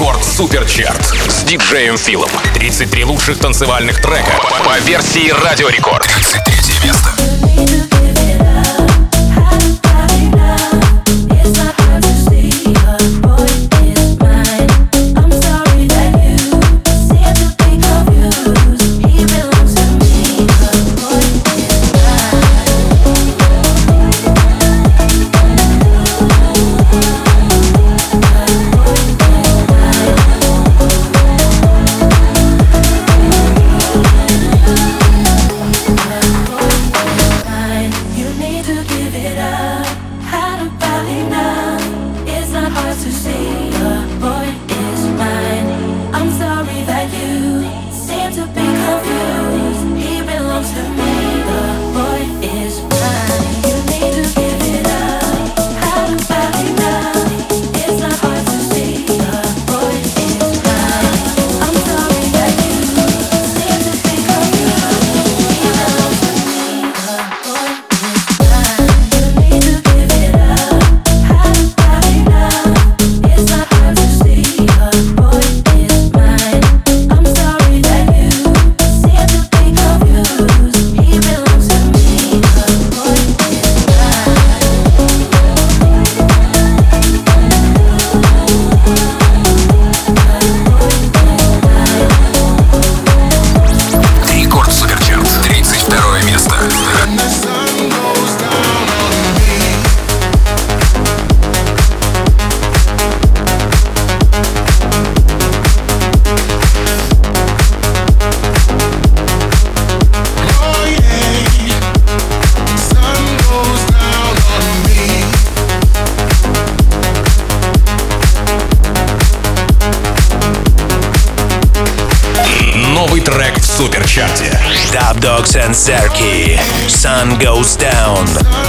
Рекорд Суперчарт с диджеем Филом. 33 лучших танцевальных трека по версии Радио Рекорд. 33 место. Суперчарте. Dub Dogs and Zerky. Sun goes down.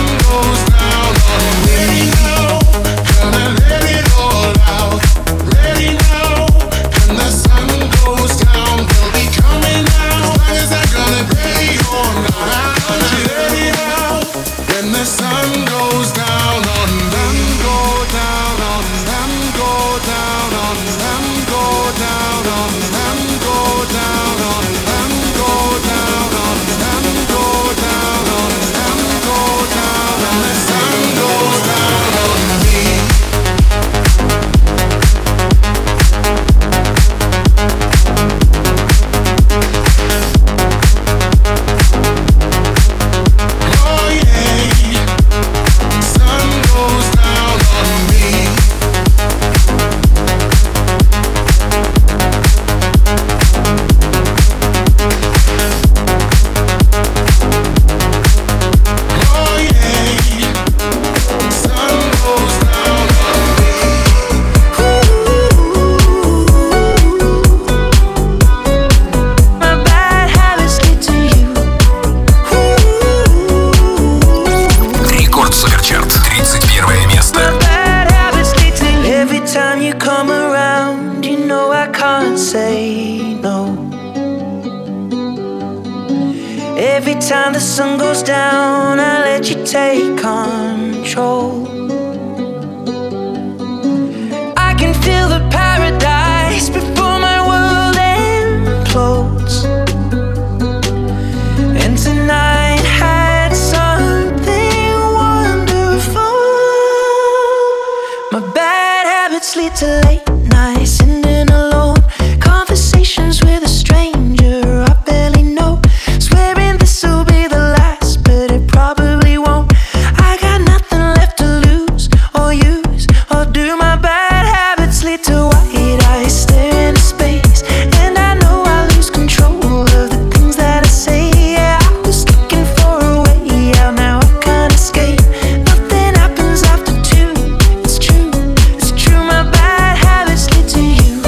Every time the sun goes down, I let you take control. I can feel the paradise before my world implodes. And tonight had something wonderful. My bad habits lead to late nights, sitting alone, conversations with a stranger I barely know. Swearing this'll be the last, but it probably won't. I got nothing left to lose or use or do. My bad habits lead to white eyes stare into space, and I know I lose control of the things that I say. Yeah, I was looking for a way out, now I can't escape. Nothing happens after two. It's true, my bad habits lead to you.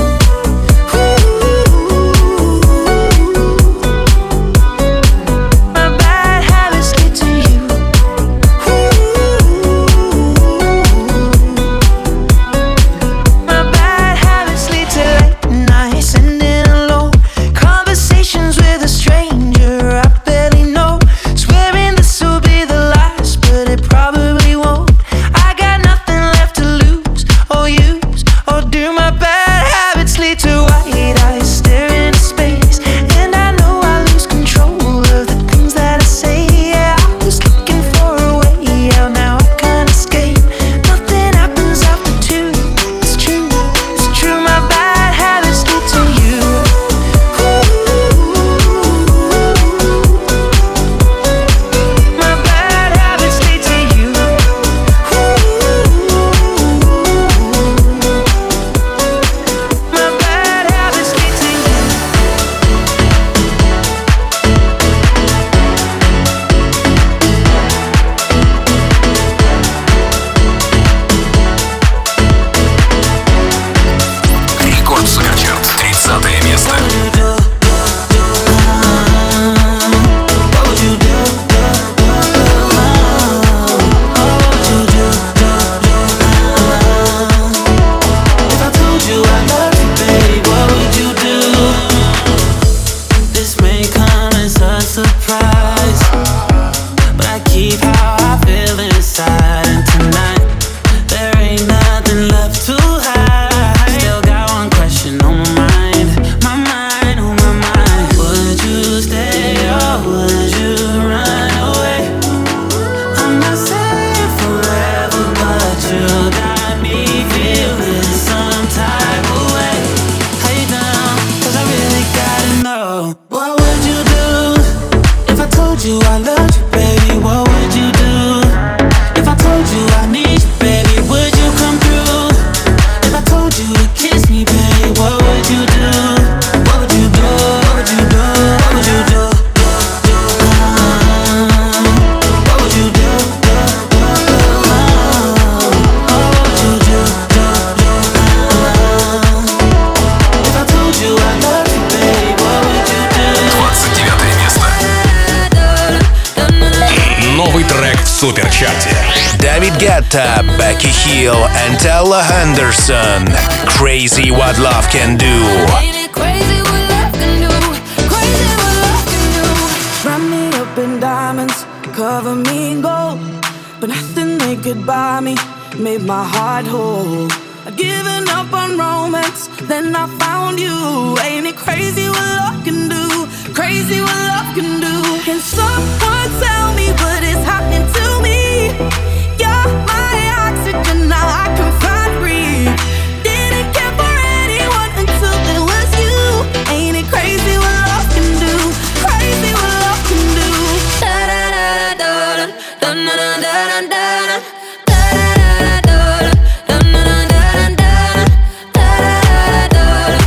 суперчарте. David Guetta, Becky Hill, and Ella Henderson. Crazy What Love Can Do. Ain't it crazy what love can do? Crazy what love can do. Wrap me up in diamonds, cover me in gold, but nothing they could buy me made my heart whole. I'd given up on romance, then I found you. Ain't it crazy what love can do? Crazy what love can do. Can someone tell me what is happening to me? You're my oxygen, now I can find breathe. Didn't care for anyone until it was you. Ain't it crazy what love can do? Crazy what love can do. Da da da da da da da da da da. Da da da da da da da da da da. Da da da da da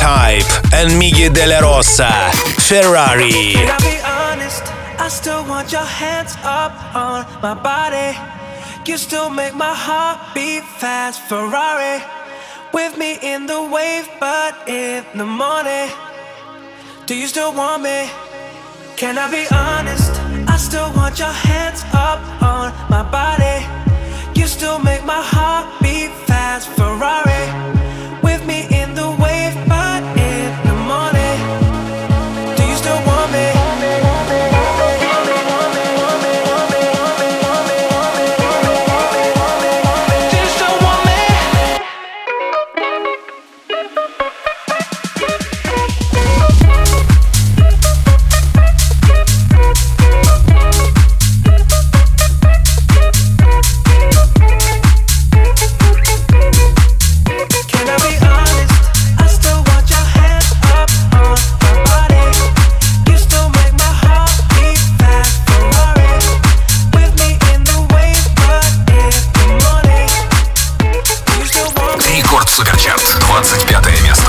Type and Miggy De La Rosa, Ferrari. Can I be honest? I still want your hands up on my body. You still make my heart beat fast. Ferrari, with me in the wave, but in the morning. Do you still want me? Can I be honest? I still want your hands up on my body. You still make my heart beat fast. Ferrari, with me in the wave, but in the morning. Do you still want me? Do you still want me? Can I be honest? I still want your hands up on my body. You still make my heart beat fast. Ferrari, with me in the wave, but in the morning. Do you still want me? Рекорд Суперчарт, 25 место.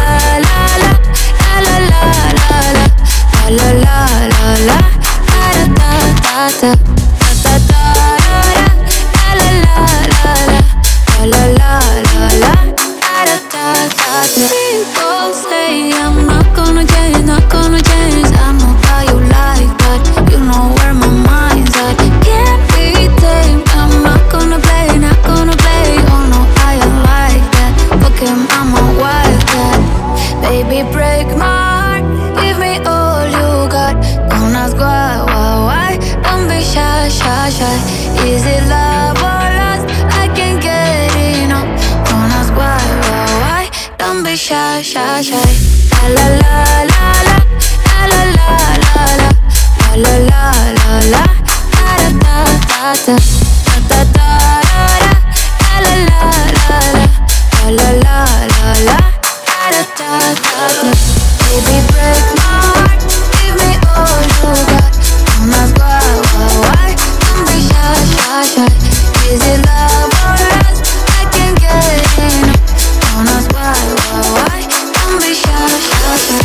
People say I'm not gonna change, not gonna change. I know how you like that. You know where my mind's at. Can't be tamed. I'm not gonna play, not gonna play. Oh no, I am like that. Look him, I'm a wildcat. Baby, break my heart. Give me all you got. Don't ask why. Don't be shy, shy, shy. Is it love or lust? I can't get enough. Don't ask why. Don't be shy, shy, shy. La la la la la la la la la la la la la da da da da da da da la la la la la la la la da da da da. Baby, break my heart, give me all you got. Don't ask why. Don't be shy, shy, shy. Is it love or lust? I can't get enough. Don't ask why. Don't be shy, shy, shy.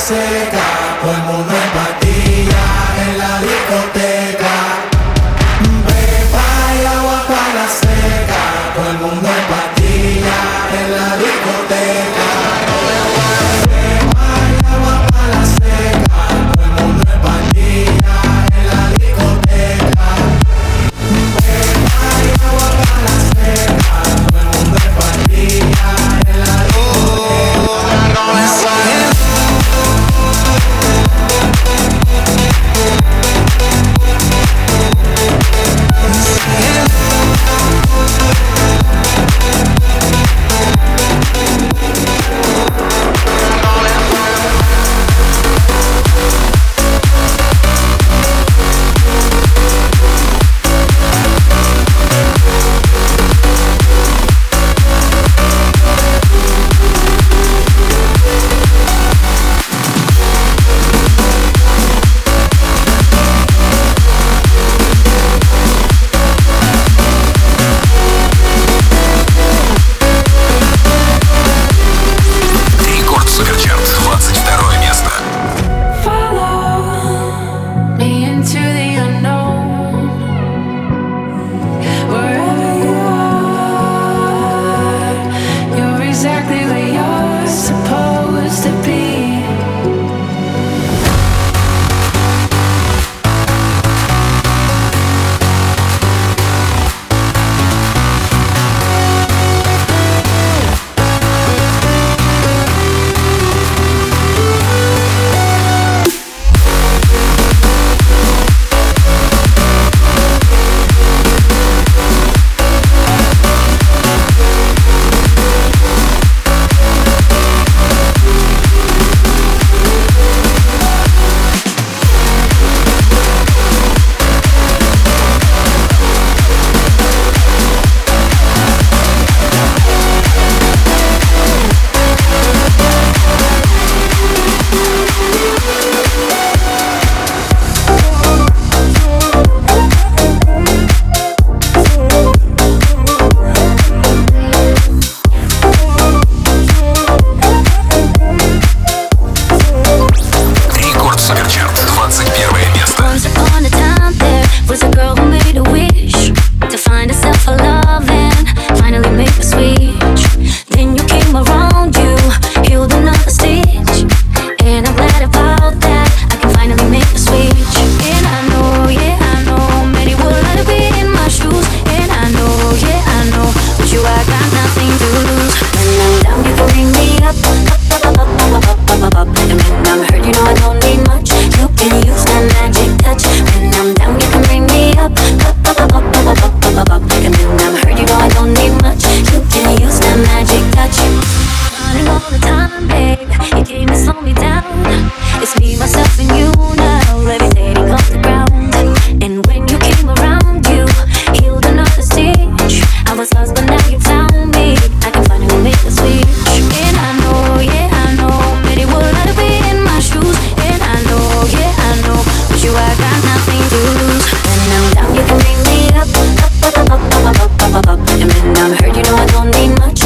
seca, todo el mundo en patilla en la discoteca. Beba y agua para la seca, todo el mundo en patilla en la discoteca. Beba y agua para la seca, todo el mundo en patilla en la discoteca. Beba y agua para la seca, todo el mundo en patilla en la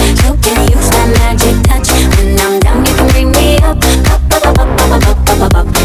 up.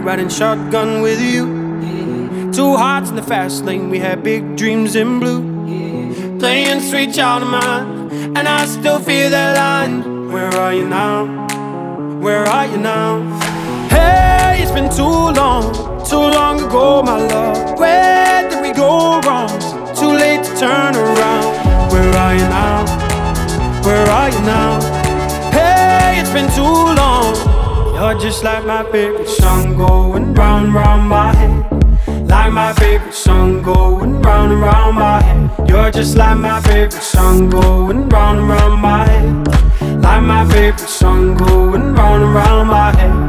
riding shotgun with you. Two hearts in the fast lane, we had big dreams in blue. Playing sweet child of mine, and I still feel that line. Where are you now? Where are you now? Hey, it's been too long ago, my love. Where did we go wrong? Too late to turn around. Where are you now? Where are you now? Hey, it's been too long. You're just like my favorite song going round and round my head. Like my favorite song going round and round my head. You're just like my favorite song going round and round my head. Like my favorite song going round and round my head.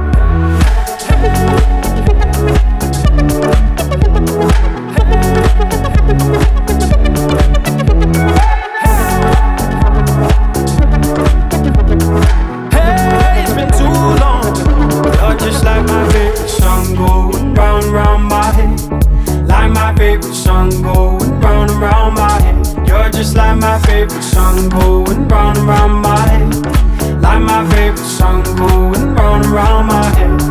Hey, it's been too long. You're just like my favorite song going round and round my head. Like my favorite song going round and round my head. You're just like my favorite song going round and round my head. Like my favorite song going round and round my head.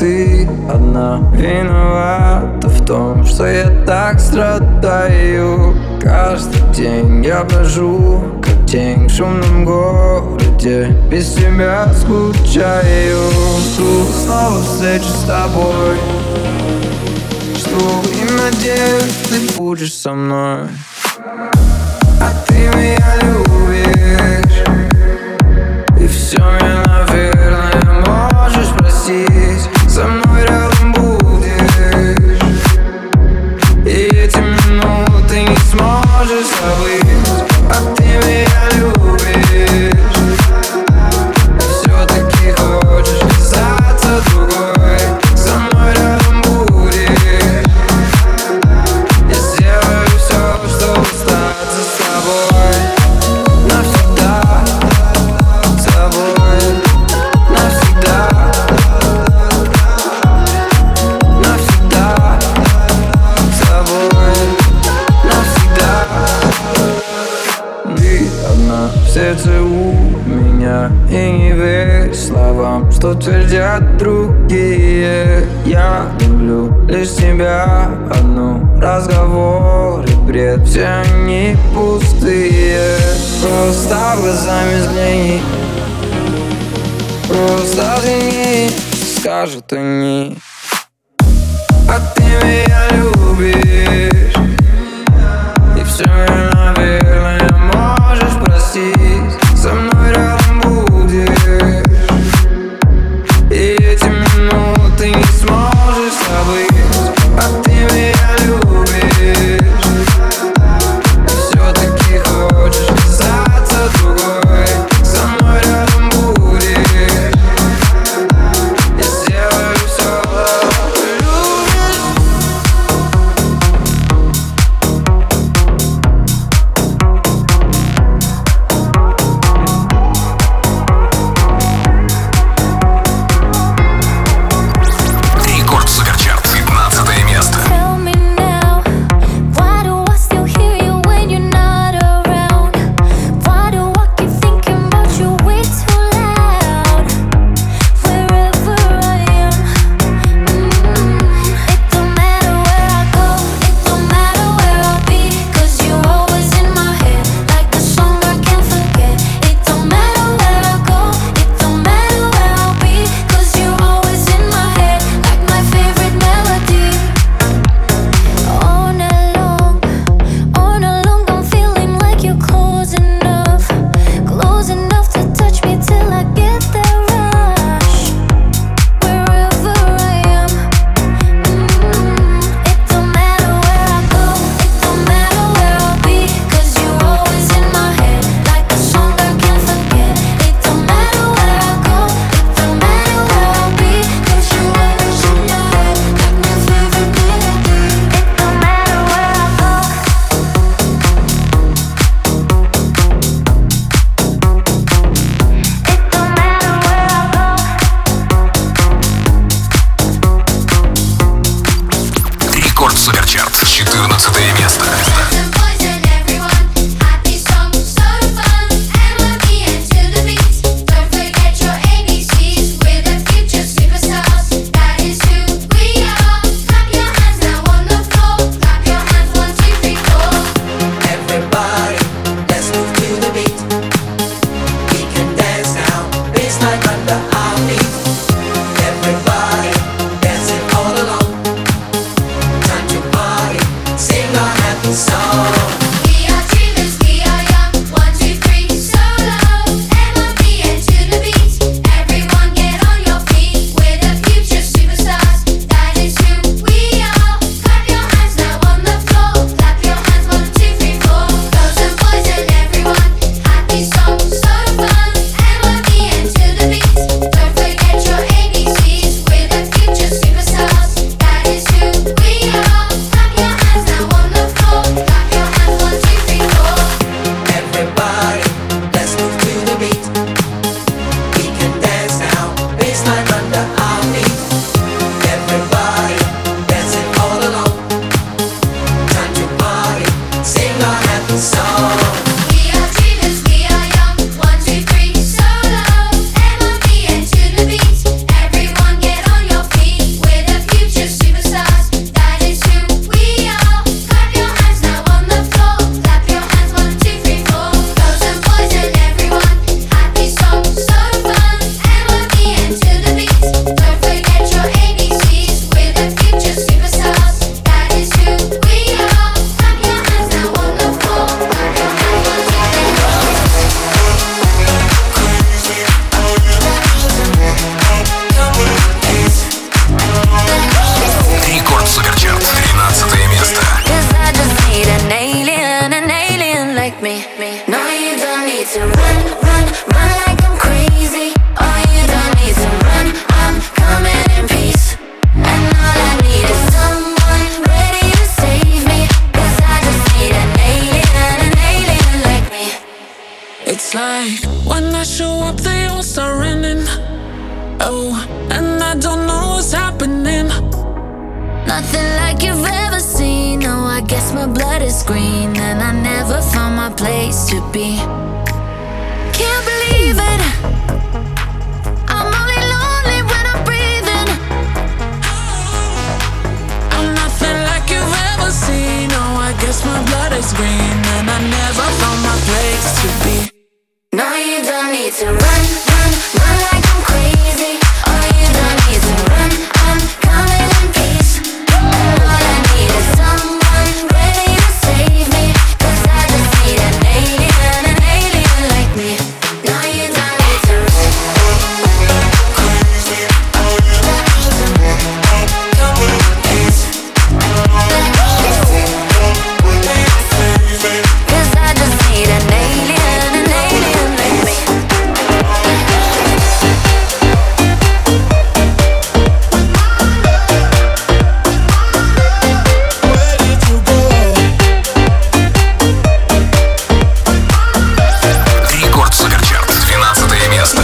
ты одна виновата в том, что я так страдаю. Каждый день я брожу, как тень в шумном городе, без тебя скучаю. Жду снова встречи с тобой, жду и надеюсь, ты будешь со мной. А ты меня любишь, и все меня, наверное, можешь простить. Со мной рядом будешь, и эти минуты не сможешь забыть. А ты меня любишь, и все-таки хочешь казаться другой. Со мной рядом будешь, я сделаю все, чтобы остаться с тобой. Навсегда с тобой, навсегда, навсегда с тобой, навсегда. Ты одна в сердце у меня, и не верь словам, что твердят другие. Я люблю лишь тебя одну, разговоры бред, все они пустые. Просто глазами взгляни, просто взгляни, скажут они. А ты меня любишь, и все меня, наверное, можешь простить. Со мной рядом будешь, и эти минуты не сможешь забыть. А ты меня любишь, и все-таки хочешь казаться другой. Со мной рядом будешь, я сделаю все. Любишь, When I show up, they all start running. Oh, and I don't know what's happening. Nothing like you've ever seen. No, I guess my blood is green, and I never found my place to be. Can't believe it. I'm only lonely when I'm breathing. I'm nothing like you've ever seen. No, I guess my blood is green, and I never found my place to be. No, you don't need to run, run, run like I'm crazy. Oh, you don't need to run, I'm coming in peace. All I need is someone ready to save me, 'cause I just need an alien like me. No, you don't need to run. Crazy. Oh, you don't need to run, I'm coming in peace. Cause I just need an alien like me. Рекорд Суперчарт, 12 место.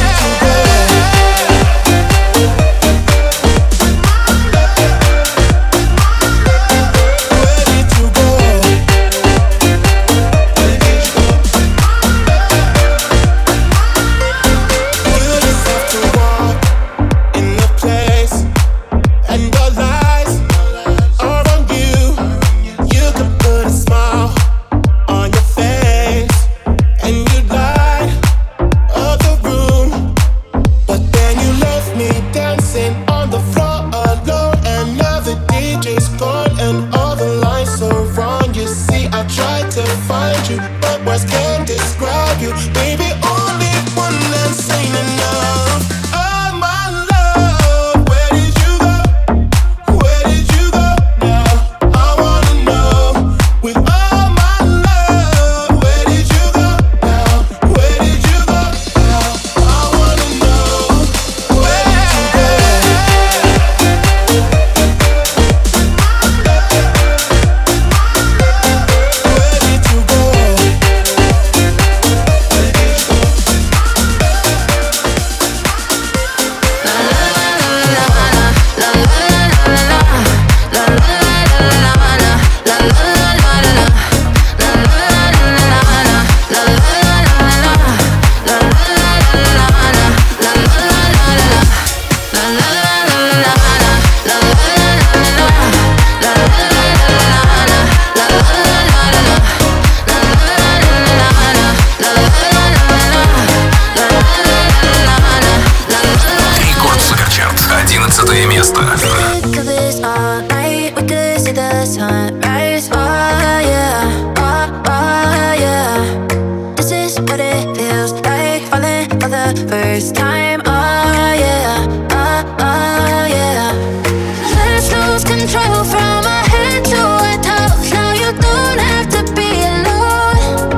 Рекорд Суперчарт, 11 место. Think of this all night, we could see the sunrise. Oh yeah, oh yeah. This is what it feels like, falling for the first time. Oh yeah, oh yeah. Let's lose control from our head to our toes. Now you don't have to be alone.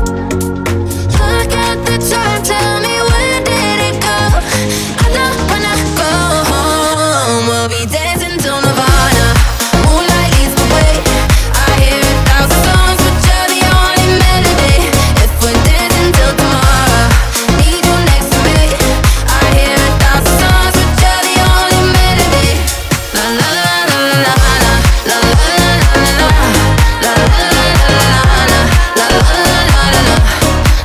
Look at the time, tell me when did it go? I don't wanna go home. We'll be dancing till Nirvana. Moonlight leads the way. I hear 1,000 songs, but you're the only melody. If we're dancing till tomorrow, need you next to me. I hear 1,000 songs, but you're the only melody. La la la la la la la la la la la la la la.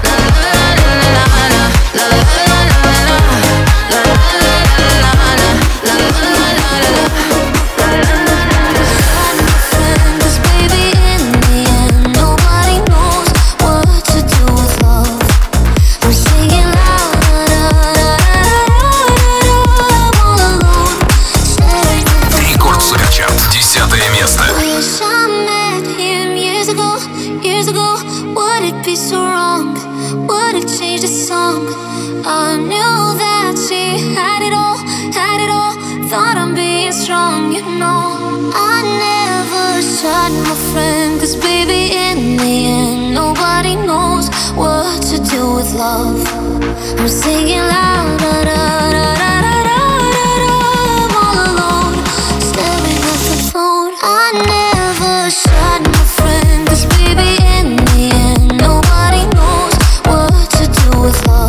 Рекорд Суперчарт, 10 место. Wish I met him years ago. Would it be so wrong? Would it change the song? I knew that she had it all. Thought I'm being strong, you know. I never shot my friend, 'cause baby, in the end, nobody knows what to do with love. I'm singing loud, da da da da da da da. I'm all alone, staring at the phone. I never shot my friend, 'cause baby, in the end, nobody knows what to do with love.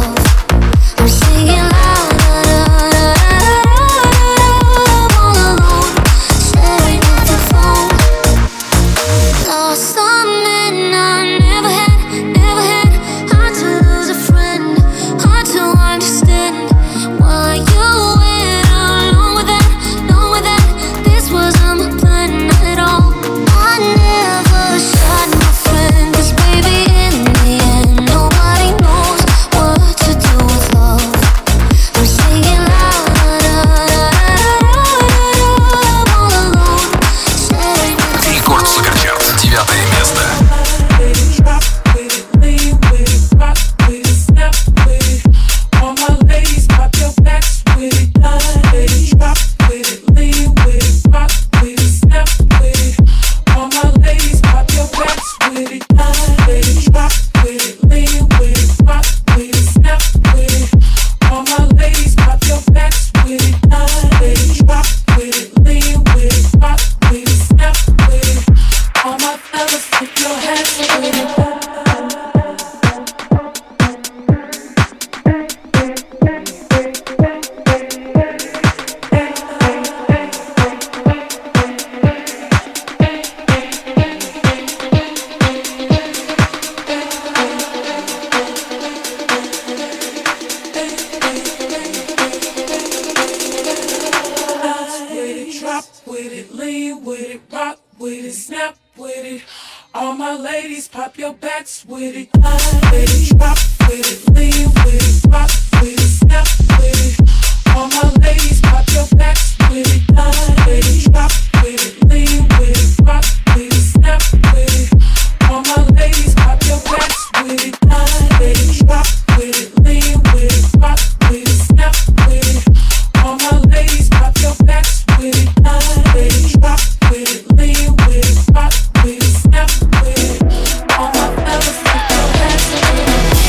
lean with it, rock with it, snap with it. All my ladies, pop your backs with it. With it, drop with it, lean with it, rock with it, snap with it. All my ladies, pop your backs with it. With it, drop with it, lean with it, rock with it, snap with it. All my ladies, pop your backs with it. With it, drop with it, lean with it, rock with it, snap with it. All my ladies, pop your backs with it. With it, drop with it, lean with it, rock with it, snap with it. All my fellas, pop your backs with it.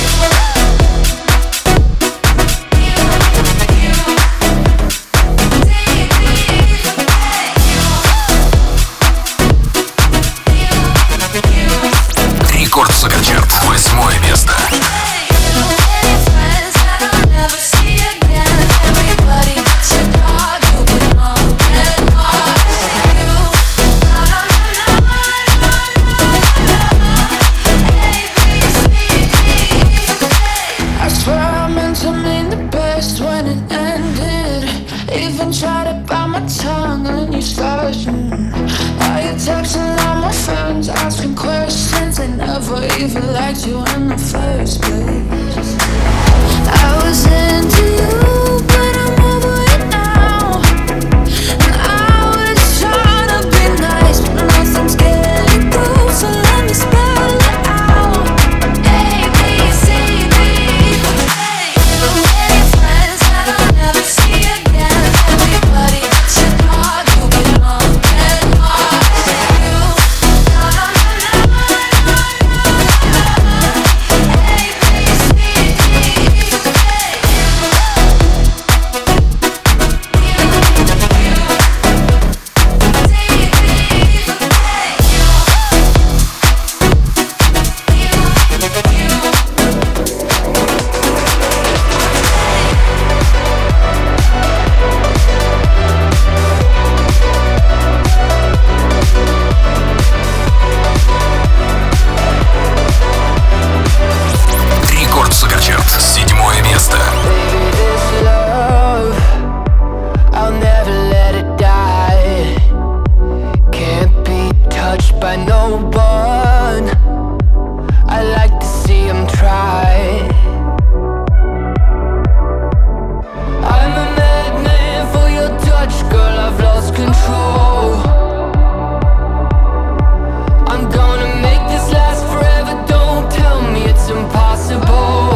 Рекорд Суперчарт, 8 место. Try to bite my tongue and you start. Now you're texting all my friends, asking questions. They never even liked you in the first place. I was into you, but I'm over it now. And I was trying to be nice, but nothing's getting through. So let me spell it out. A, B, C, D. Hey, friends that I'll never see again. Everybody that you thought you belong and lost you. A, B, C, Рекорд Суперчарт, 7 место. I'll never let it die. Can't be touched by no one. I like to see him try. I'm a madman for your touch, girl, I've lost control. I'm gonna make this last forever, don't tell me it's impossible.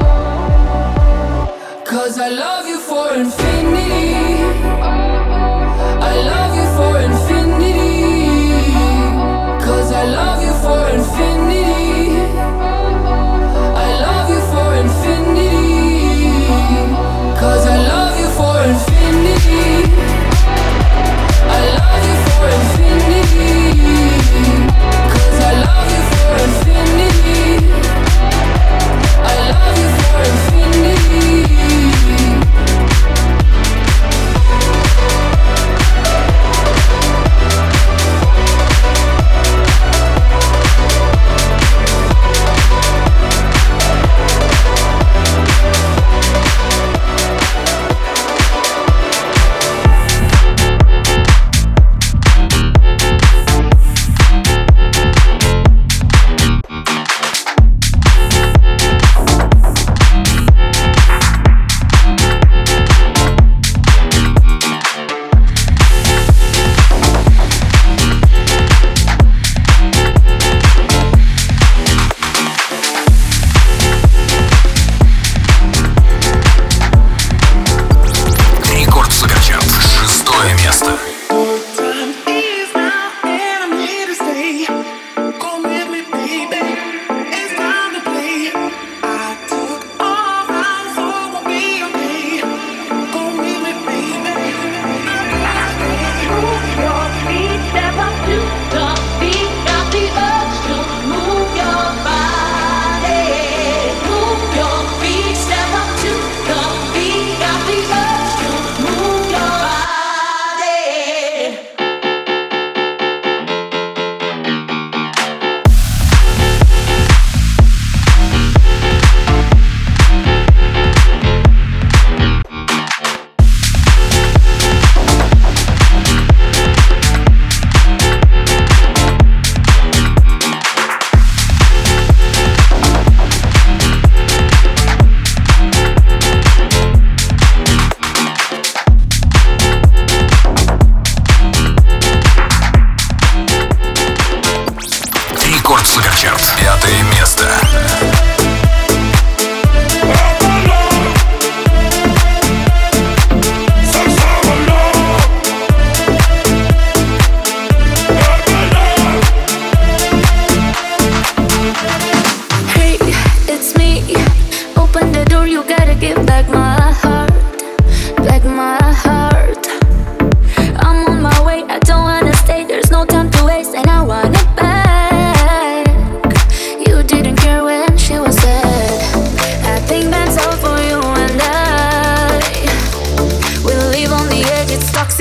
'Cause I love you for infinity. I love you for infinity. 'Cause I love you for infinity. I love you for infinity. 'Cause I love you for infinity. I love you for infinity. 'Cause I love you for infinity. I love you for infinity.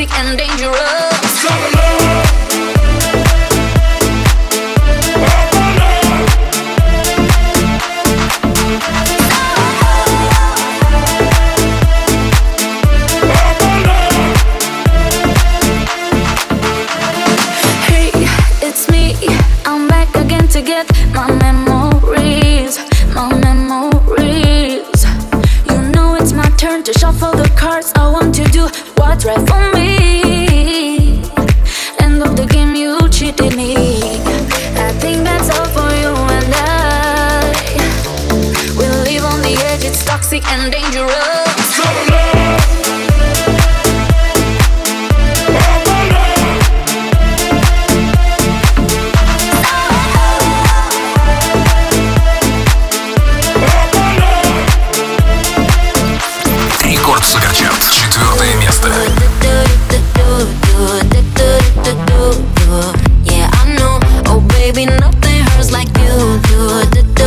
and dangerous. Hey, it's me. I'm back again to get my memories, my memories. You know it's my turn to shuffle the cards. I want to do what's right for me. End of the game, you cheated me. I think that's all for you and I. We live on the edge, it's toxic and dangerous. Рекорд Суперчарт, 4 место. Yeah, I know. Oh, baby, nothing hurts like you do.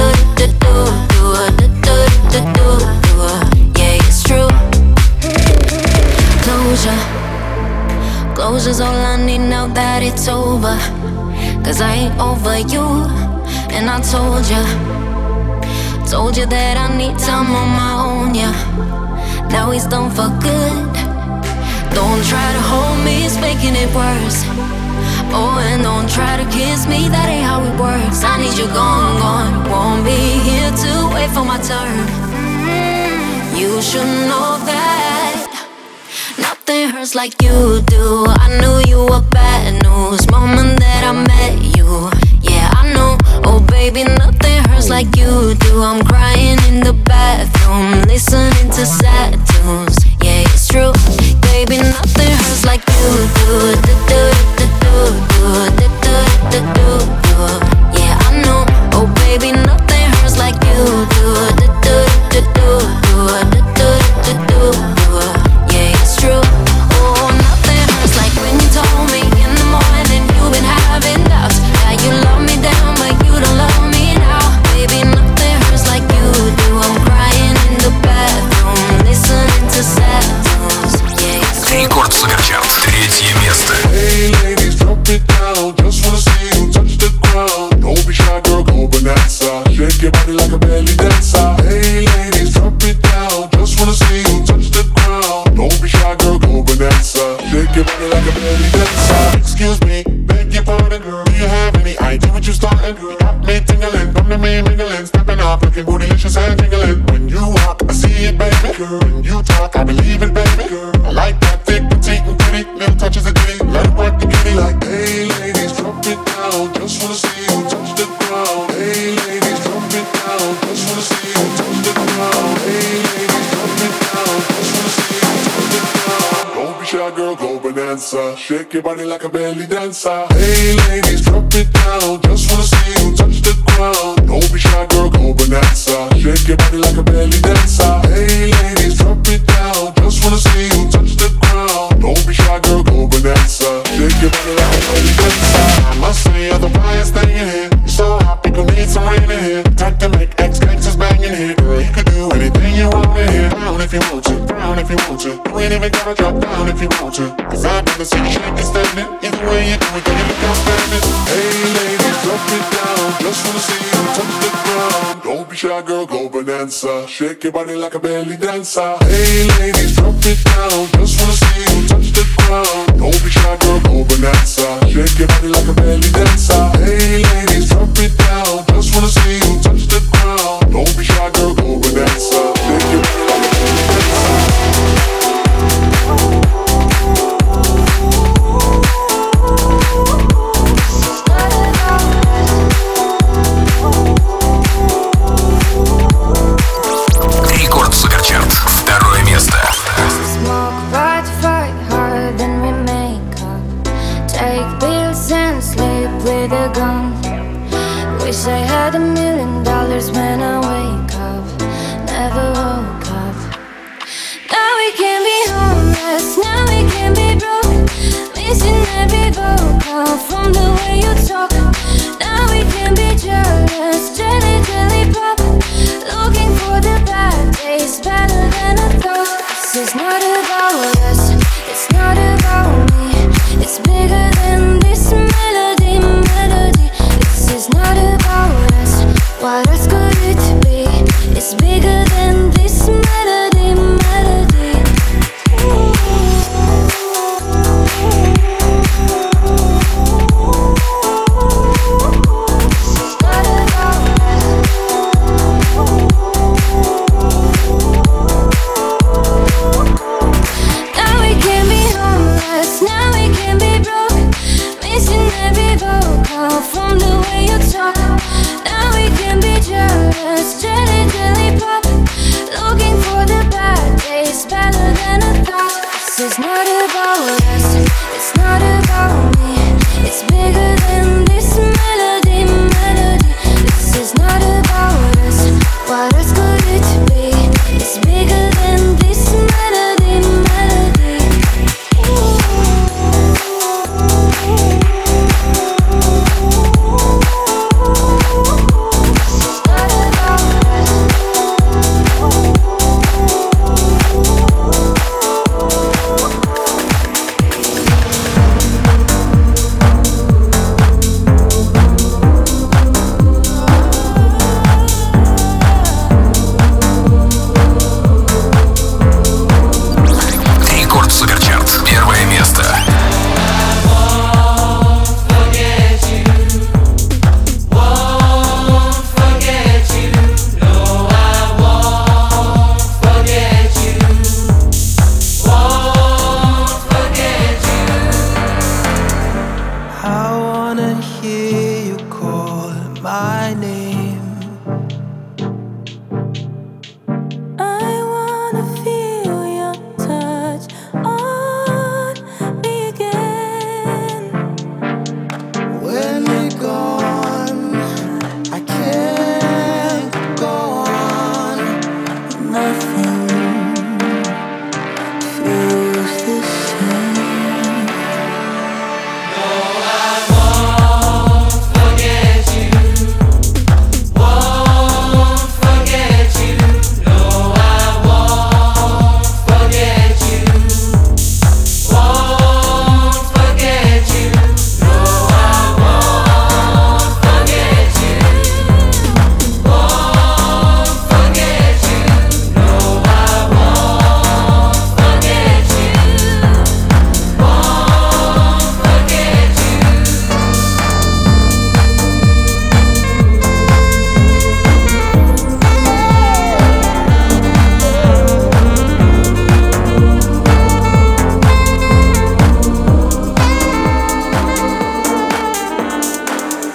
Yeah, it's true. Closure's all I need now that it's over. 'Cause I ain't over you. And I told you that I need time on my own, yeah. Now he's done for good. Don't try to hold me, it's making it worse. Oh, and don't try to kiss me, that ain't how it works. I need you gone, gone. Won't be here to wait for my turn. You should know that nothing hurts like you do. I knew you were bad news moment that I met you. Yeah, I know. Oh, baby, nothing hurts like you do. I'm crying in the bathroom, listening to sad tunes. Yeah, it's true. Baby, nothing hurts like you do. Yeah, I know. Oh, baby, nothing hurts like you do. Yeah, it's true. Oh, nothing hurts like when you told me in the morning you've been having doubts. Yeah, you love me down, but you don't love me now. Baby, nothing hurts like you do. I'm crying in the bathroom, listening to sad tunes. Yeah, it's true. Рекорд Суперчарт, 3 место. Hey ladies, drop it down. Just wanna see you touch the ground. Don't be shy, girl, go bonanza. Shake your body like a belly dancer. Hey ladies, drop it down. Just wanna see you touch the ground. Don't be shy, girl, go bonanza. Shake your body like a belly dancer. Excuse me, beg your pardon, girl. Do you have any idea what you're starting? You got me tingling, come to me mingling, stepping up, looking bootylicious and tingling. When you walk, I see it, baby. Girl, when you talk, I believe it, baby. Girl, I like that thick, petite, and pretty. Little touches of ditty, let it work the kitty. Like, hey ladies, drop it down. Just wanna see you touch the ground. Hey ladies, drop it down. Just wanna see you touch the ground. Hey ladies, drop it down. Just wanna see you touch the ground. Don't be shy, girl, go bonanza. Shake your body like a belly dancer. Hey ladies, drop it down. Just wanna see you touch the ground. Don't be shy, girl, go bonanza. Shake your body like a belly dancer. Hey ladies, drop it down. Just wanna see you touch the ground. Don't be shy, girl, go bonanza. Shake your body like a belly dancer. I must say you're the brightest thing in here. You're so hot, people need some rain in here. Time to make ex-gangsters bang in here. Girl, you could do anything you want in here. Down if you want to, down if you want to. You ain't even gotta drop down if you want to. 'Cause I've never seen you shaking standing. Either way you do it, then you look outstanding. Hey ladies, drop it down. Just wanna see you touch the ground. Don't be shy, girl, go bonanza. Shake your body like a belly dancer. Hey ladies, drop it down. Just wanna see you touch the ground. Don't be shy, girl, go bonanza. Shake your body like a belly dancer. Hey ladies, drop it down. Just wanna see you touch the ground. Don't be shy, girl, go bonanza. Shake your body like a belly dancer. Рекорд Суперчарт, 2 место. Smoke, fight hard, then we make up. Take pills and sleep with a gun. Wish I had $1 million when I wake up. Never woke up. Now we can be homeless, now we can be broke. Missing every vocal from the way you talk. Now we can be jealous, jelly pop. Looking for the bad days, better than I thought. This is not about us, it's not about is better than I thought. This is not about us, it's not about